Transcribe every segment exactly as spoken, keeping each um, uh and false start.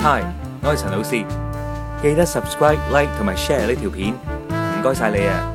Hi，我係陳老師，記得 subscribe、like 同埋 share 呢條片，唔該晒你啊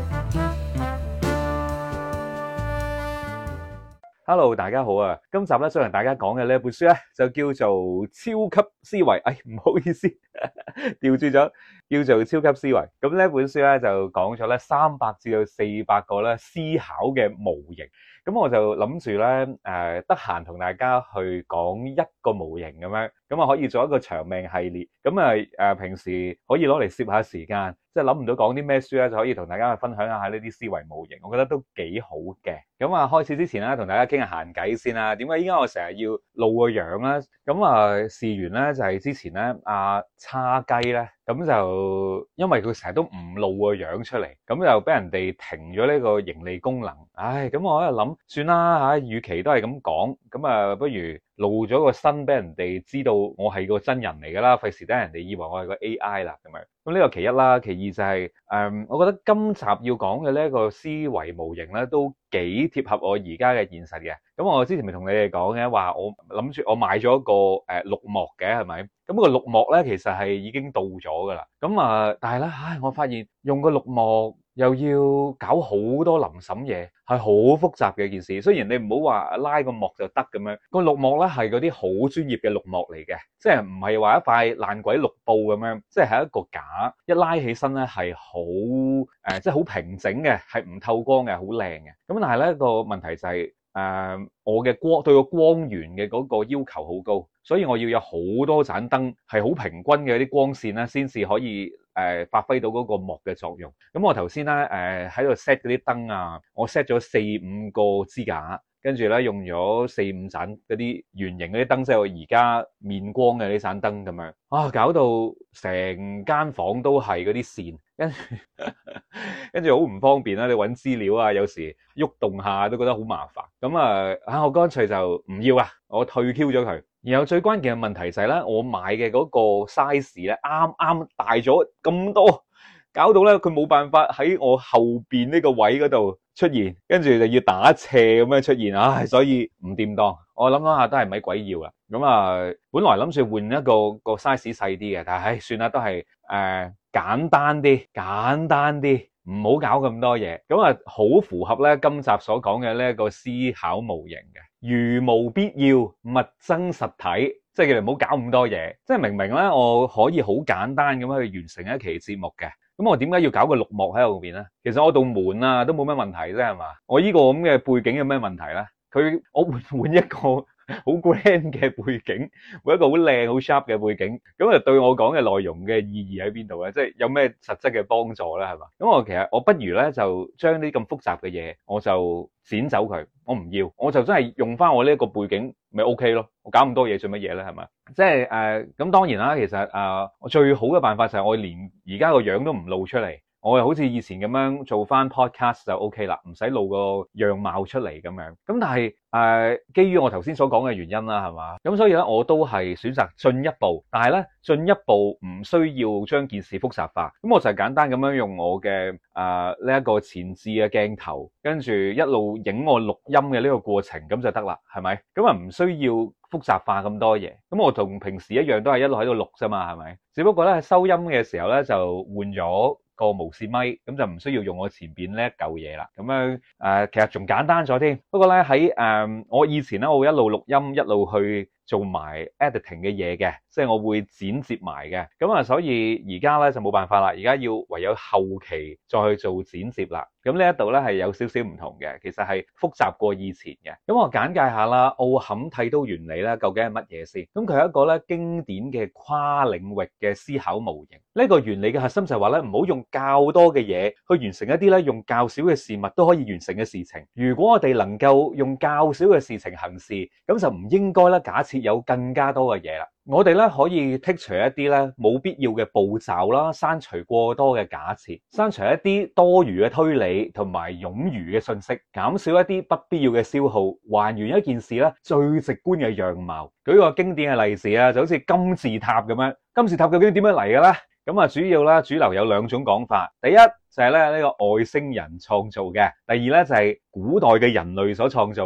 ！Hello，大家好啊！今集咧想同大家講嘅呢一本書咧就叫做《超級思維》。哎，唔好意思，調轉咗，叫做《超級思維》。咁呢一本書咧就講咗咧三百至到四百個咧思考嘅模型。咁我就諗住咧誒，得閒同大家去講一個模型咁樣，咁啊可以做一個長命系列。咁啊誒，平時可以攞嚟攝下時間，即係諗唔到講啲咩書咧，就可以同大家去分享一下呢啲思維模型。我覺得都幾好嘅。咁啊，開始之前咧，同大家傾下閒偈先啦。點解依家我成日要露個樣咧？咁啊，事緣咧就係之前咧，阿叉雞咧，咁就因為佢成日都唔露個樣出嚟，咁就俾人哋停咗呢個盈利功能。唉，咁我喺度諗，算啦吓，與其都係咁講，咁啊，不如露咗個身俾人哋知道我係個真人嚟噶啦，費事等人哋以為我係個 A I 啦咁樣。咁呢個其一啦，其二就係、是、誒、嗯，我覺得今集要講嘅呢一個思維模型咧，都幾貼合我而家嘅現實嘅。咁我之前咪同你哋講嘅，話我諗住我買咗個誒綠幕嘅，係咪？咁個綠幕咧，其實係已經到咗噶啦。咁啊，但係咧，唉，我發現用個綠幕又要搞好多臨審嘢，係好複雜嘅一件事。雖然你唔好話拉個幕就得咁樣，個綠幕咧係嗰啲好專業嘅綠幕嚟嘅，即係唔係話一塊爛鬼綠布咁樣，即係係一個架，一拉起身咧係好誒，即係好平整嘅，係唔透光嘅，好靚嘅。咁但係咧個問題就係、是、誒、呃，我嘅光對個光源嘅嗰個要求好高，所以我要有好多盞燈係好平均嘅啲光線咧，先至可以誒、呃、發揮到嗰個幕嘅作用。咁我頭先咧誒喺度 set 嗰啲燈啊，我 set 咗四五個支架。跟住咧用咗四五盞嗰啲圓形嗰啲燈，即係我而家面光嘅呢盞燈咁樣啊，搞到成間房都係嗰啲線，跟住跟住好唔方便啦。你揾資料啊，有時喐動下都覺得好麻煩。咁啊，啊我乾脆就唔要啊，我退 Q 咗佢。然後最關鍵嘅問題就係咧，我買嘅嗰個 size 咧，啱啱大咗咁多，搞到咧佢冇辦法喺我後邊呢個位嗰度出現，跟住就要打斜咁樣出現，唉，所以唔掂當。我諗諗下都係咪鬼要啦。咁啊，本來諗住換一個個 size 細啲嘅，但係唉，算啦，都係誒、呃、簡單啲，簡單啲，唔好搞咁多嘢。咁啊，好符合咧今集所講嘅呢一個思考模型嘅，如無必要，勿增實體。即係叫你唔好搞咁多嘢。即係明明咧，我可以好簡單咁樣去完成一期節目嘅。咁我點解要搞個綠幕喺後邊咧？其實我道門啊都冇咩問題啫，係嘛？我呢個咁嘅背景有咩問題咧？佢我換換一個好 grand 嘅背景，換一個好靚好 sharp 嘅背景，咁啊對我講嘅內容嘅意義喺邊度咧？即係有咩實質嘅幫助咧？係嘛？咁我其實我不如咧就將啲咁複雜嘅嘢，我就剪走佢，我唔要，我就真係用翻我呢一個背景咪 OK 咯。我搞咁多嘢做乜嘢咧？係咪？即係誒咁當然啦，其實誒我最好嘅辦法就係我連而家個樣都唔露出嚟。我又好似以前咁樣做翻 podcast 就 OK 啦，唔使露個樣貌出嚟咁樣。咁但係誒、呃，基於我頭先所講嘅原因啦，係嘛？咁所以咧，我都係選擇進一步，但係咧進一步唔需要將件事複雜化。咁我就係簡單咁樣用我嘅誒呢一個前置嘅鏡頭，跟住一路影我錄音嘅呢個過程，咁就得啦，係咪？咁啊唔需要複雜化咁多嘢。咁我同平時一樣都係一路喺度錄啫嘛，係咪？只不過咧喺收音嘅時候咧就換咗個無線咪，咁就唔需要用我前邊呢一嚿嘢啦。咁樣誒，其實仲簡單咗添。不過咧喺誒，我以前咧我會一路錄音一路去做埋 editing 嘅嘢嘅，即係我會剪接埋嘅。咁啊，所以而家咧就冇辦法啦，而家要唯有後期再去做剪接啦。咁呢一度咧係有少少唔同嘅，其實係複雜過以前嘅。咁我簡介下啦，奧坎剃刀原理咧究竟係乜嘢先？咁佢係一個咧經典嘅跨領域嘅思考模型。呢個原理嘅核心就係話咧，唔好用較多嘅嘢去完成一啲咧用較少嘅事物都可以完成嘅事情。如果我哋能夠用較少嘅事情行事，咁就唔應該咧假設有更加多嘅嘢啦。我哋咧可以剔除一啲咧冇必要嘅步驟啦，刪除過多嘅假設，刪除一啲多餘嘅推理同埋冗餘嘅信息，減少一啲不必要嘅消耗，還原一件事咧最直觀嘅樣貌。舉個經典嘅例子啊，就好似金字塔咁樣。金字塔究竟點樣嚟嘅咧？咁啊，主要啦，主流有兩種講法。第一就係咧呢個外星人創造嘅，第二咧就係古代嘅人類所創造嘅。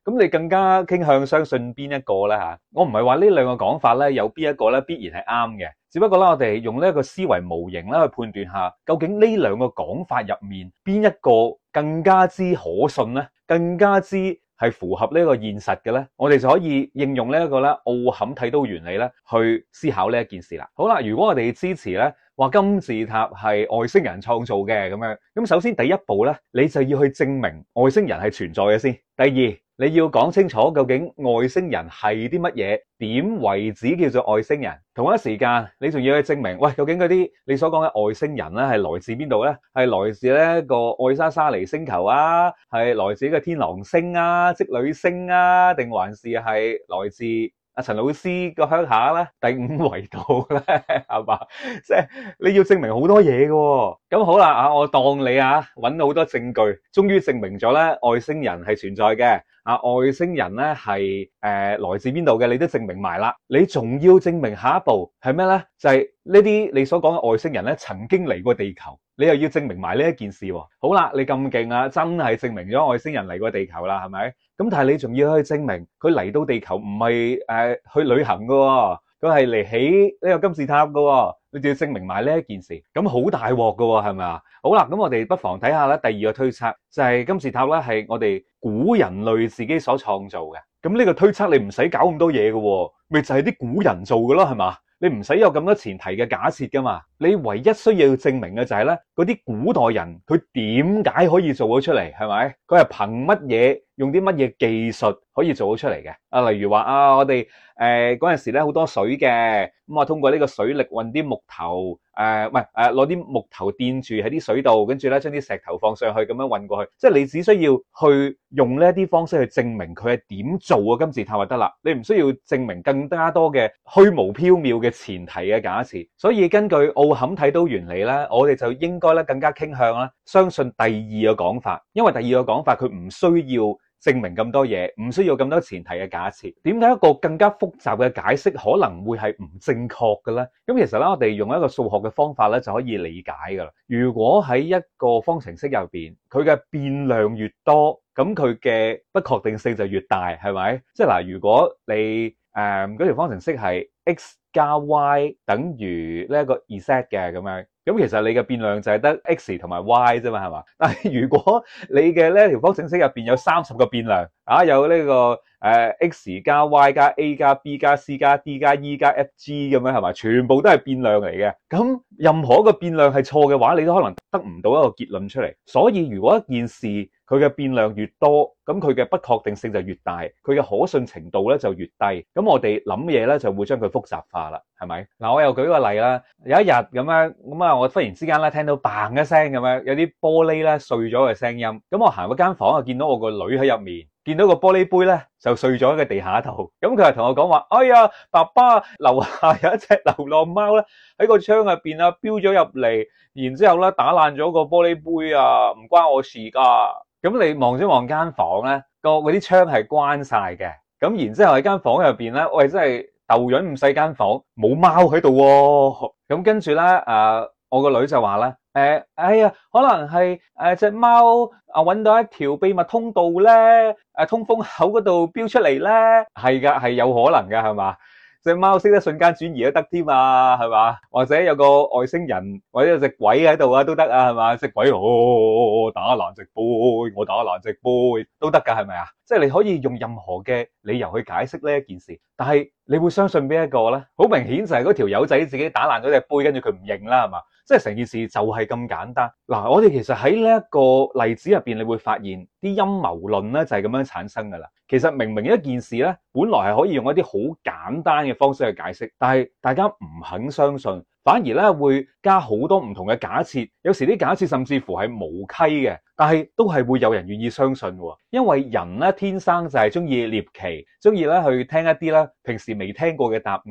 咁你更加傾向相信邊一個咧吓？我唔係話呢兩個講法咧有邊一個咧必然係啱嘅，只不過咧我哋用呢一個思維模型咧去判斷下，究竟呢兩個講法入面邊一個更加之可信咧，更加之係符合呢個現實嘅咧，我哋就可以應用呢一個咧奧坎剃刀原理咧去思考呢一件事啦。好啦，如果我哋支持咧話金字塔係外星人創造嘅咁樣，咁首先第一步咧，你就要去證明外星人係存在嘅先。第二，你要講清楚究竟外星人係啲乜嘢，點為止叫做外星人？同一時間，你仲要去證明，喂，究竟嗰啲你所講嘅外星人咧，係來自邊度咧？係來自呢個愛沙沙尼星球啊，係來自呢個天狼星啊、織女星啊，定還是係來自阿陳老師個鄉下咧，第五維度咧，係嘛？即係你要證明好多嘢嘅。咁好啦，啊，我當你啊揾到好多證據，終於證明咗咧外星人係存在嘅。啊，外星人咧係誒來自邊度嘅，你都證明埋啦。你仲要證明下一步係咩咧？就係呢啲你所講嘅外星人咧曾經嚟過地球，你又要證明埋呢一件事喎。好啦，你咁勁啊，真係證明咗外星人嚟過地球啦，係咪？咁但係你仲要去證明佢嚟到地球唔係誒去旅行噶喎，佢係嚟起呢個金字塔噶喎，你就要證明埋呢一件事，咁好大鑊噶喎，係咪啊？好啦，咁我哋不妨睇下咧第二個推測，就係金字塔咧係我哋古人類自己所創造嘅。咁呢個推測你唔使搞咁多嘢噶喎，咪就係啲古人做噶咯，係嘛？你唔使有咁多前提嘅假設噶嘛，你唯一需要證明嘅就係咧，嗰啲古代人佢點解可以做到出嚟，係咪？佢係憑乜嘢，用啲乜嘢技術可以做到出嚟嘅？啊，例如話啊，我哋誒嗰陣時咧好多水嘅，咁啊通過呢個水力運啲木頭，誒唔係誒攞啲木頭墊住喺啲水度，跟住咧將啲石頭放上去咁樣運過去，即係你只需要去用呢一啲方式去證明佢係點做嘅金字塔就得啦，你唔需要證明更加多嘅虛無縹緲嘅前提嘅假設。所以根據奧坎剃刀原理咧，我哋就應該咧更加傾向咧相信第二個講法，因為第二個講法佢唔需要證明咁多嘢，唔需要咁多前提嘅假設。點解一個更加複雜嘅解釋可能會係唔正確嘅咧？咁其實咧，我哋用一個數學嘅方法咧就可以理解噶啦。如果喺一個方程式入邊，佢嘅變量越多，咁佢嘅不確定性就越大，係咪？即係嗱，如果你誒嗰條方程式係 x 加 y 等於呢一個 z 嘅咁樣，咁其實你嘅變量就係得 x 同埋 y 啫嘛，係嘛？但係如果你嘅呢條方程式入邊有三十個變量啊，有呢個誒 x 加 y 加 a 加 b 加 c 加 d 加 e 加 f g 咁樣，係嘛？全部都係變量嚟嘅。咁任何一個變量係錯嘅話，你都可能得唔到一個結論出嚟。所以如果一件事佢嘅變量越多，咁佢嘅不確定性就越大，佢嘅可信程度咧就越低。咁我哋諗嘢咧就會將佢複雜化啦，係咪？嗱，我又舉個例啦。有一日咁樣，咁啊，我忽然之間咧聽到嘭一聲咁樣，有啲玻璃咧碎咗嘅聲音。咁我行嗰間房啊，見到我個女喺入面，見到個玻璃杯咧就碎咗喺個地下度。咁佢係同我講話：哎呀，爸爸，樓下有一隻流浪貓咧喺個窗入邊啊，飆咗入嚟，然之後咧打爛咗個玻璃杯啊，唔關我事噶。咁你望咗望間房咧，個嗰啲窗係關晒嘅。咁然之後喺間房入邊咧，喂，真係豆樣咁細間房，冇貓喺度喎。咁跟住咧，誒，我個女就話啦，誒，哎呀，可能係誒隻貓啊搵到一條秘密通道咧，誒通風口嗰度飆出嚟咧，係噶，係有可能噶，係嘛？隻貓識得瞬間轉移都得添啊，係嘛？或者有個外星人或者有隻鬼喺度啊，都得啊，係嘛？隻鬼哦，打爛隻杯，我打爛隻杯都得噶，係咪啊？即係你可以用任何嘅理由去解釋呢一件事，但係你會相信邊一個咧？好明顯就係嗰條友仔自己打爛咗隻杯，跟住佢唔認啦，係嘛？即係成件事就係咁簡單。嗱，我哋其實喺呢一個例子入邊，你會發現啲陰謀論咧就係咁樣產生噶啦。其實明明一件事咧，本來係可以用一啲好簡單嘅方式去解釋，但係大家唔肯相信，反而咧會加好多唔同嘅假設。有時啲假設甚至乎係無稽嘅，但係都係會有人願意相信喎。因為人咧天生就係中意獵奇，中意咧去聽一啲咧平時未聽過嘅答案。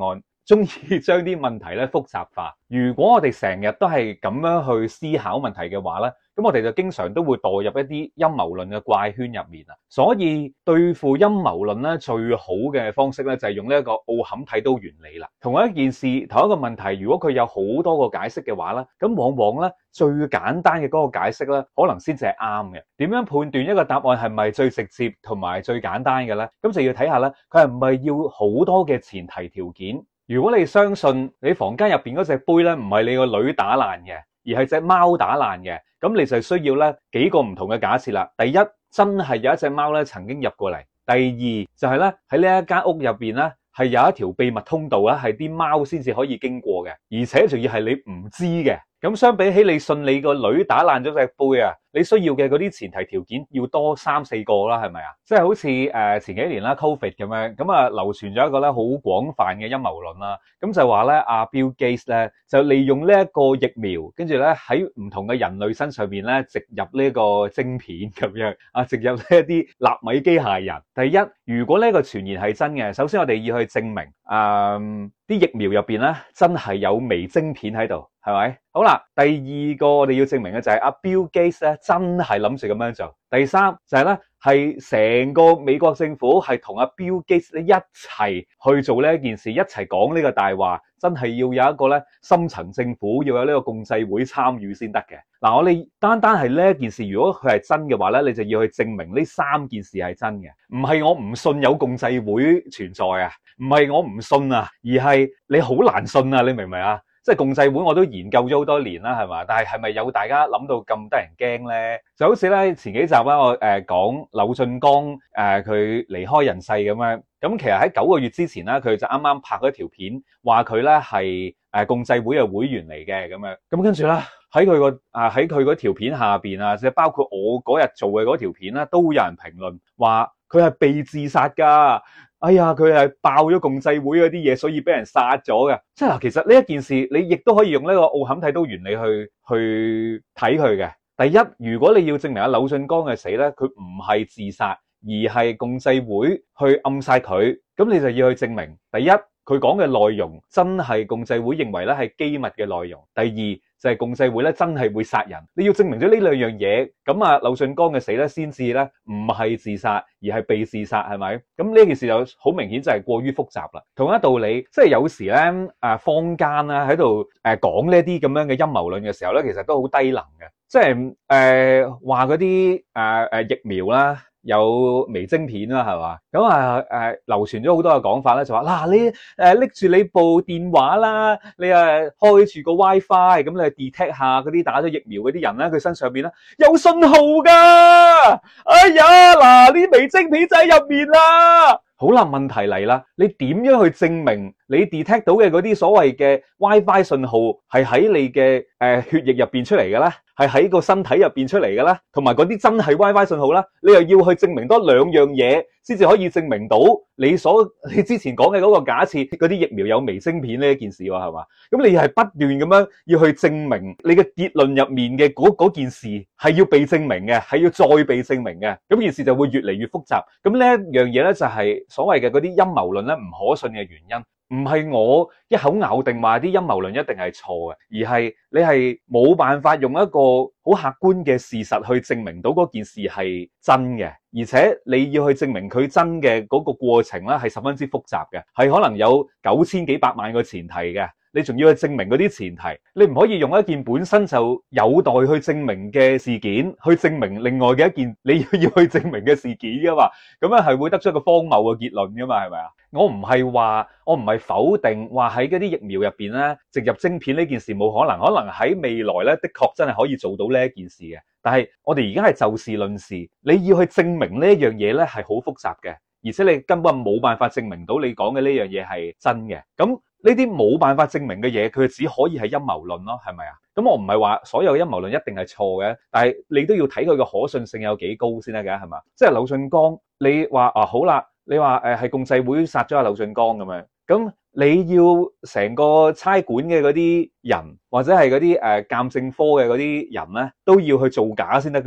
中意將啲問題咧複雜化。如果我哋成日都係咁樣去思考問題嘅話咧，咁我哋就經常都會墮入一啲陰謀論嘅怪圈入面啊。所以對付陰謀論咧，最好嘅方式咧就係用呢一個奧坎剃刀原理啦。同一件事，同一個問題，如果佢有好多個解釋嘅話咧，咁往往咧最簡單嘅嗰個解釋咧，可能先至係啱嘅。點樣判斷一個答案係咪最直接同埋最簡單嘅咧？咁就要睇下咧，佢係唔係要好多嘅前提條件。如果你相信你房間入邊嗰隻杯咧唔係你個女打爛嘅，而係隻貓打爛嘅，咁你就需要咧幾個唔同嘅假設啦。第一，真係有一隻貓咧曾經入過嚟；第二，就係咧喺呢一間屋入邊咧係有一條秘密通道咧，係啲貓先至可以經過嘅，而且仲要係你唔知嘅。咁相比起你信你個女打爛咗隻杯啊，你需要嘅嗰啲前提條件要多三四個啦，係咪啊？即係好似誒前幾年啦 Covid 咁樣，咁啊流傳咗一個咧好廣泛嘅陰謀論啦，咁就話咧阿 Bill Gates 咧就利用呢一個疫苗，跟住咧喺唔同嘅人類身上面咧植入呢個晶片咁樣啊，植入呢一啲納米機械人。第一，如果呢個傳言係真嘅，首先我哋要去證明誒啲疫苗入邊咧真係有微晶片喺度。係咪？好啦，第二個我哋要證明嘅就係阿 Bill Gates 咧真係諗住咁樣做。第三就係咧係成個美國政府係同阿 Bill Gates 咧一齊去做呢一件事，一齊講呢個大話，真係要有一個咧深層政府要有呢個共濟會參與先得嘅。嗱，我哋單單係呢一件事，如果佢係真嘅話咧，你就要去證明呢三件事係真嘅，唔係我唔信有共濟會存在啊，唔係我唔信啊，而係你好難信啊，你明唔明啊？即係共濟會我都研究咗好多年啦，係嘛？但係係咪有大家諗到咁得人驚咧？就好似咧前幾集啦，我誒講柳俊江誒佢離開人世咁樣。咁其實喺九個月之前啦，佢就啱啱拍咗條片，話佢咧係誒共濟會嘅會員嚟嘅咁樣。咁跟住咧喺佢個啊喺佢嗰條片下邊啊，即係包括我嗰日做嘅嗰條片啦，都有人評論話佢係被自殺㗎。哎呀，佢係爆咗共濟會嗰啲嘢，所以俾人殺咗嘅。即係嗱，其實呢一件事，你亦都可以用呢個奧坎剃刀原理去去睇佢嘅。第一，如果你要證明阿柳俊江嘅死咧，佢唔係自殺，而係共濟會去暗殺佢，咁你就要去證明，第一，佢講嘅內容真係共濟會認為咧係機密嘅內容；第二，就係共濟會咧真係會殺人。你要證明咗呢兩樣嘢，咁啊柳俊江嘅死咧先至咧唔係自殺，而係被自殺，係咪？咁呢件事就好明顯就係過於複雜啦。同一道理，即係有時咧誒坊間咧喺度誒講呢啲咁樣嘅陰謀論嘅時候咧，其實都好低能嘅，即係誒話嗰啲誒誒疫苗啦。有微晶片啦，係嘛？咁啊誒流傳咗好多嘅講法咧，就話嗱你誒拎住你部電話啦，你誒開住個 WiFi，咁你 detect 下嗰啲打咗疫苗嗰啲人咧，佢身上邊咧有信號㗎。哎呀，嗱呢微晶片就喺入面啦。好啦，問題嚟啦，你點樣去證明你 detect 到嘅嗰啲所謂嘅 WiFi 信號係喺你嘅誒血液入邊出嚟嘅咧？係喺個身體入邊出嚟嘅咧？同埋嗰啲真係 WiFi 信號咧？你又要去證明多兩樣嘢，先至可以證明到你所你之前講嘅嗰個假設，嗰啲疫苗有微晶片呢一件事喎，係嘛？咁你係不斷咁樣要去證明你嘅結論入面嘅嗰嗰件事係要被證明嘅，係要再被證明嘅，咁件事就會越嚟越複雜。咁呢一樣嘢咧就係所謂嘅嗰啲陰謀論咧唔可信嘅原因。唔係我一口咬定話啲陰謀論一定係錯嘅，而係你係冇辦法用一個好客觀嘅事實去證明到嗰件事係真嘅，而且你要去證明佢真嘅嗰個過程咧係十分之複雜嘅，係可能有九千幾百萬個前提嘅。你仲要去證明嗰啲前提，你唔可以用一件本身就有待去證明嘅事件去證明另外嘅一件你要要去證明嘅事件噶嘛？咁樣係會得出一個荒謬嘅結論噶嘛？係咪啊？我唔係話，我唔係否定話喺嗰啲疫苗入邊咧植入晶片呢件事冇可能，可能喺未來咧的確真係可以做到呢一件事嘅。但係我哋而家係就事論事，你要去證明呢一樣嘢咧係好複雜嘅，而且你根本冇辦法證明到你講嘅呢樣嘢係真嘅。咁呢啲冇辦法證明嘅嘢，佢只可以係陰謀論咯，係咪啊？咁我唔係話所有陰謀論一定係錯嘅，但係你都要睇佢個可信性有幾高先得嘅，係嘛？即係柳俊江，你話啊好啦，你話誒係共濟會殺咗阿柳俊江咁樣，咁你要成個差館嘅嗰啲人，或者係嗰啲誒鑑證科嘅嗰啲人咧，都要去造假先得㗎喎。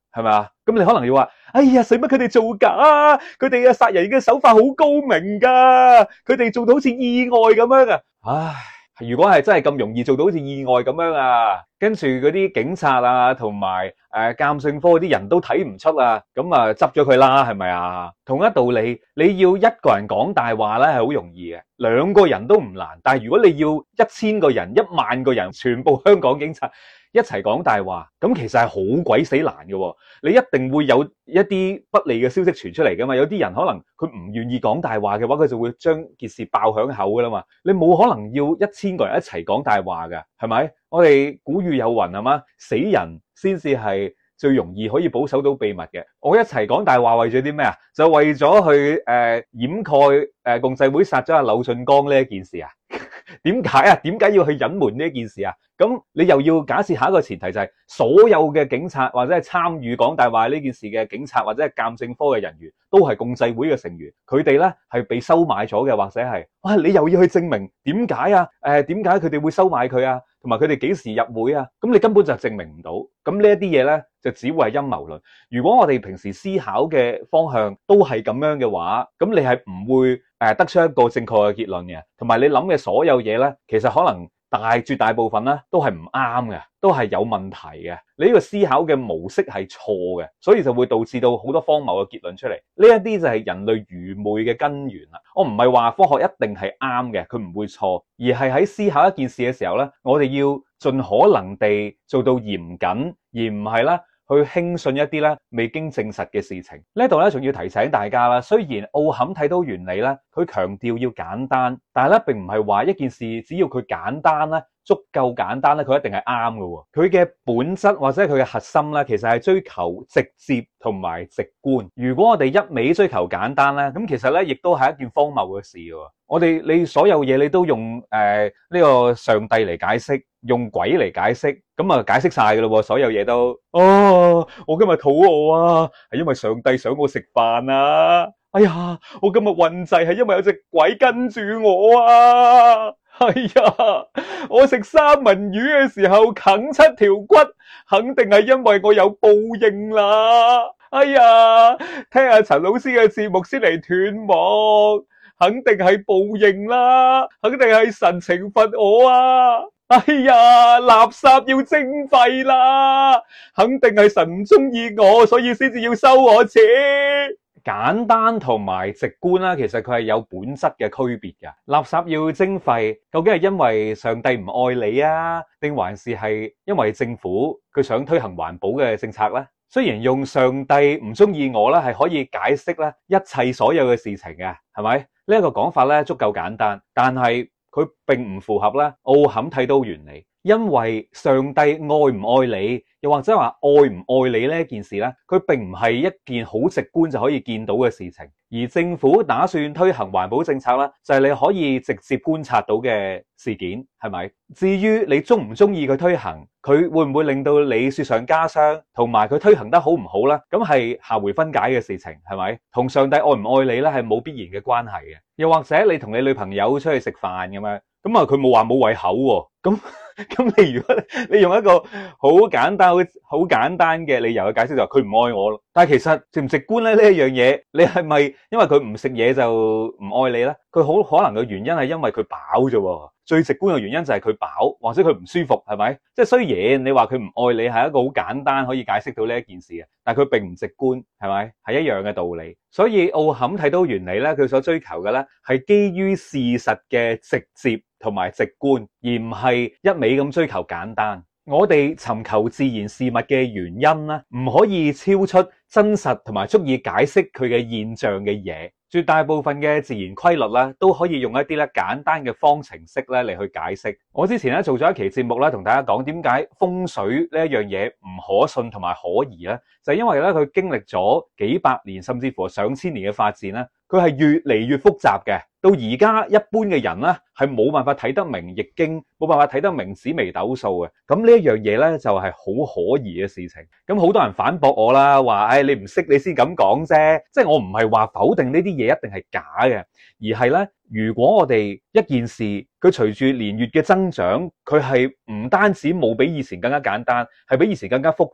係咪啊？咁你可能要話，哎呀，使乜佢哋做假啊？佢哋嘅殺人嘅手法好高明噶，佢哋做到好似意外咁樣啊！唉。如果係真係咁容易做到好似意外咁樣啊，跟住嗰啲警察啊同埋誒鑑證科嗰啲人都睇唔出啊，咁啊執咗佢啦，係咪啊？同一道理，你要一個人講大話咧係好容易嘅，兩個人都唔難，但係如果你要一千個人、一萬個人，全部香港警察一齊講大話，咁其實係好鬼死難嘅喎。你一定會有一啲不利嘅消息傳出嚟噶嘛。有啲人可能佢唔願意講大話嘅話，佢就會將件事爆響口噶啦嘛。你冇可能要一千個人一齊講大話噶，係咪？我哋古語有云係嘛，死人先至係最容易可以保守到秘密嘅。我一齊講大話為咗啲咩啊？就為咗去誒、呃、掩蓋誒、呃、共濟會殺咗阿柳俊江呢一件事啊？點解啊？點解要去隱瞞呢一件事啊？咁你又要假設下一個前提就係所有嘅警察或者係參與講大話呢件事嘅警察或者係鑑證科嘅人員都係共濟會嘅成員，佢哋咧係被收買咗嘅，或者係哇你又要去證明點解啊？誒點解佢哋會收買佢啊？同埋佢哋幾時入會啊？咁你根本就證明唔到。咁呢一啲嘢咧就只會係陰謀論。如果我哋平時思考嘅方向都係咁樣嘅話，咁你係唔會誒得出一個正確嘅結論嘅。同埋你諗嘅所有嘢咧，其實可能大絕大部分咧都係唔啱嘅，都係有問題嘅。你呢個思考嘅模式係錯嘅，所以就會導致到好多荒謬嘅結論出嚟。呢一啲就係人類愚昧嘅根源啦。我唔係話科學一定係啱嘅，佢唔會錯，而係喺思考一件事嘅時候咧，我哋要盡可能地做到嚴謹，而唔係咧去輕信一啲咧未經證實嘅事情。呢度咧仲要提醒大家啦，雖然奧坎剃刀原理咧，佢強調要簡單，但係咧並唔係話一件事只要佢簡單咧，足夠簡單咧，佢一定係啱嘅。佢嘅本質或者係佢嘅核心咧，其實係追求直接同埋直觀。如果我哋一味追求簡單咧，咁其實咧亦都係一件荒謬嘅事。我哋你所有嘢你都用誒呢、呃這個上帝嚟解釋，用鬼嚟解釋，咁啊解釋晒噶咯，所有嘢都。哦，我今日肚餓啊，係因為上帝想我食飯啊。哎呀，我今日運滯係因為有隻鬼跟住我啊。哎呀，我食三文魚嘅時候啃七條骨，肯定係因為我有報應啦。哎呀，聽下陳老師嘅節目先嚟斷網，肯定係報應啦，肯定係神懲罰我啊！哎呀，垃圾要徵費啦，肯定係神唔中意我，所以先至要收我錢。簡單同埋直觀啦，其實佢係有本質嘅區別嘅。垃圾要徵費，究竟係因為上帝唔愛你啊，定還是係因為政府佢想推行環保嘅政策呢？雖然用上帝唔中意我咧，係可以解釋咧一切所有嘅事情嘅，係咪？呢一個講法咧足夠簡單，但係佢並唔符合咧奧坎剃刀原理。因為上帝愛唔愛你，又或者話愛唔愛你呢件事咧，佢並唔係一件好直觀就可以見到嘅事情。而政府打算推行環保政策咧，就係你可以直接觀察到嘅事件，係咪？至於你中唔中意佢推行，佢會唔會令到你雪上加霜，同埋佢推行得好唔好咧？咁係下回分解嘅事情，係咪？同上帝愛唔愛你咧係冇必然嘅關係嘅。又或者你同你女朋友出去食飯咁樣，咁啊佢冇話冇胃口喎，咁。咁你如果你用一個好簡單、好好簡單嘅理由去解釋就話佢唔愛我咯，但係其實直唔直觀咧呢一樣嘢，你係咪因為佢唔食嘢就唔愛你咧？佢好可能嘅原因係因為佢飽啫，最直觀嘅原因就係佢飽或者佢唔舒服，係咪？即係雖然你話佢唔愛你係一個好簡單可以解釋到呢一件事嘅，但係佢並唔直觀，係咪？係一樣嘅道理。所以奧坎剃刀原理咧，佢所追求嘅咧係基於事實嘅直接同埋直觀，而唔係一味咁追求簡單。我哋尋求自然事物嘅原因咧，唔可以超出真實同埋足以解釋佢嘅現象嘅嘢。絕大部分嘅自然規律咧，都可以用一啲咧簡單嘅方程式咧嚟去解釋。我之前咧做咗一期節目咧，同大家講點解風水呢一樣嘢唔可信同埋可疑咧，就係因為咧佢經歷咗幾百年甚至乎上千年嘅發展咧，佢係越嚟越複雜嘅。到而家一般嘅人咧係冇辦法睇得明易經，冇辦法睇得明紫微斗數嘅。咁呢一樣嘢咧就係好可疑嘅事情。咁好多人反駁我啦，話唉你唔識你先咁講啫。即係我唔係話否定呢啲嘢一定係假嘅，而係咧如果我哋一件事佢隨住年月嘅增長，佢係唔單止冇比以前更加簡單，係比以前更加複雜。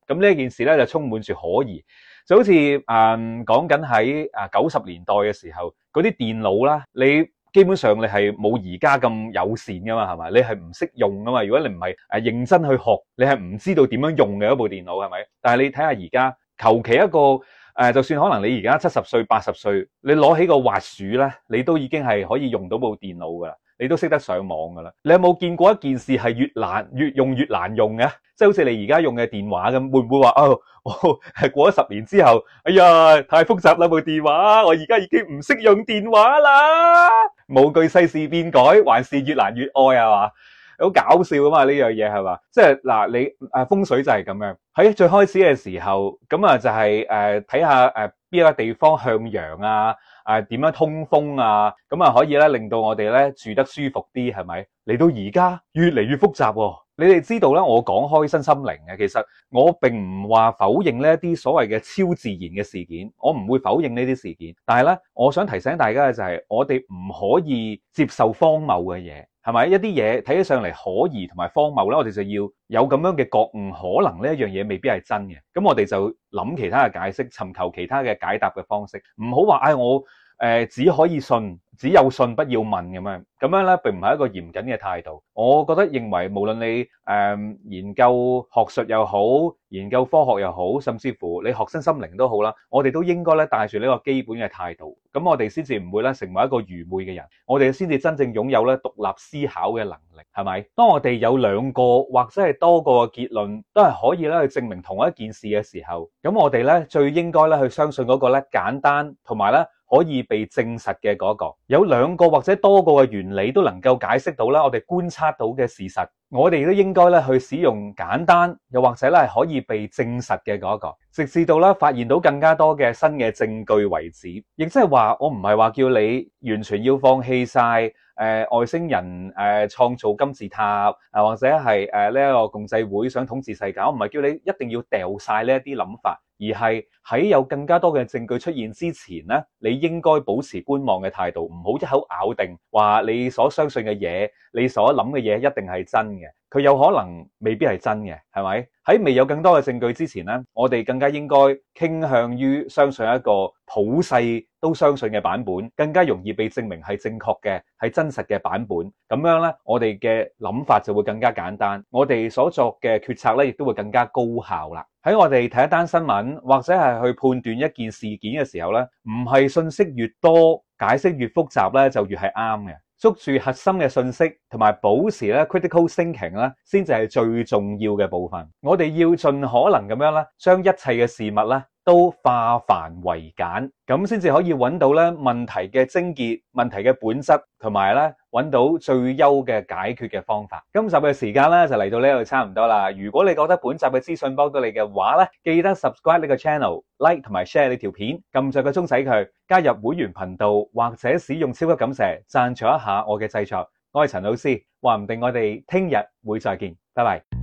咁呢件事咧就充滿住可疑，就好似誒講緊喺誒九十年代嘅時候，嗰啲電腦啦，你基本上你係冇而家咁友善噶嘛，係咪？你係唔識用噶嘛？如果你唔係誒認真去學，你係唔知道點樣用嘅一部電腦，係咪？但係你睇下而家，求其一個誒、呃，就算可能你而家七十歲、八十歲，你攞起個滑鼠咧，你都已經係可以用到部電腦噶啦。你都識得上網噶啦，你有冇見過一件事係越難越用越難用嘅？即係好似你而家用嘅電話咁，會唔會話哦，哦係過咗十年之後，哎呀太複雜啦部電話，我而家已經唔識用電話啦。無懼世事變改，還是越難越愛係嘛？好搞笑啊嘛，呢樣嘢係嘛？即係嗱，你誒風水就係咁樣，喺最開始嘅時候，咁啊就係誒睇下誒邊一個地方向陽啊。啊，點樣通風啊？咁啊，可以咧令到我哋咧住得舒服啲，係咪？嚟到而家越嚟越複雜喎。你哋知道咧，我講開身心靈嘅，其實我並唔話否認呢一啲所謂嘅超自然嘅事件，我唔會否認呢啲事件。但係咧，我想提醒大家嘅就係，我哋唔可以接受荒謬嘅嘢，係咪？一啲嘢睇起上嚟可疑同埋荒謬咧，我哋就要有咁樣嘅覺悟，可能呢一樣嘢未必係真嘅。咁我哋就諗其他嘅解釋，尋求其他嘅解答嘅方式，唔好話唉我。誒、呃，只可以信，只有信不要問咁樣，咁樣咧並唔係一個嚴謹嘅態度。我覺得認為無論你誒、呃、研究學術又好，研究科學又好，甚至乎你學身心靈都好啦，我哋都應該咧帶住呢個基本嘅態度，咁我哋先至唔會咧成為一個愚昧嘅人，我哋先至真正擁有咧獨立思考嘅能力，係咪？當我哋有兩個或者係多個嘅結論都係可以咧去證明同一件事嘅時候，咁我哋咧最應該咧去相信嗰個咧簡單同埋咧可以被證實嘅嗰個，有兩個或者多個嘅原理都能夠解釋到啦，我哋觀察到嘅事實，我哋都應該咧去使用簡單又或者咧係可以被證實嘅嗰個，直至到咧發現到更加多嘅新嘅證據為止。亦即係話，我唔係話叫你完全要放棄晒誒、呃、外星人誒創、呃、造金字塔啊，或者係誒呢一個共濟會想統治世界，我唔係叫你一定要掉晒呢一啲諗法。而係喺有更加多嘅證據出現之前呢，你應該保持觀望嘅態度，唔好一口咬定話你所相信嘅嘢，你所諗嘅嘢一定係真嘅。佢有可能未必係真嘅，係咪？喺未有更多嘅證據之前呢，我哋更加應該傾向於相信一個普世都相信嘅版本，更加容易被證明係正確嘅，係真實嘅版本。咁樣呢，我哋嘅諗法就會更加簡單，我哋所作嘅決策呢，亦都會更加高效啦。喺我哋睇一單新聞，或者係去判斷一件事件嘅時候呢，唔係信息越多，解釋越複雜呢，就越係啱嘅。捉住核心嘅信息，同埋保持咧 critical thinking 咧，先至係最重要嘅部分。我哋要盡可能咁樣咧，將一切嘅事物咧都化繁為簡，咁先至可以揾到咧問題嘅症結、問題嘅本質，同埋咧揾到最優嘅解決嘅方法。今集嘅時間咧就嚟到呢度差唔多啦。如果你覺得本集嘅資訊幫到你嘅話咧，記得 subscribe 呢個 channel、like 同埋 share 呢條片，撳著個鐘仔佢，加入會員頻道或者使用超級感謝贊助一下我嘅製作。我係陳老師，話唔定我哋聽日會再見，拜拜。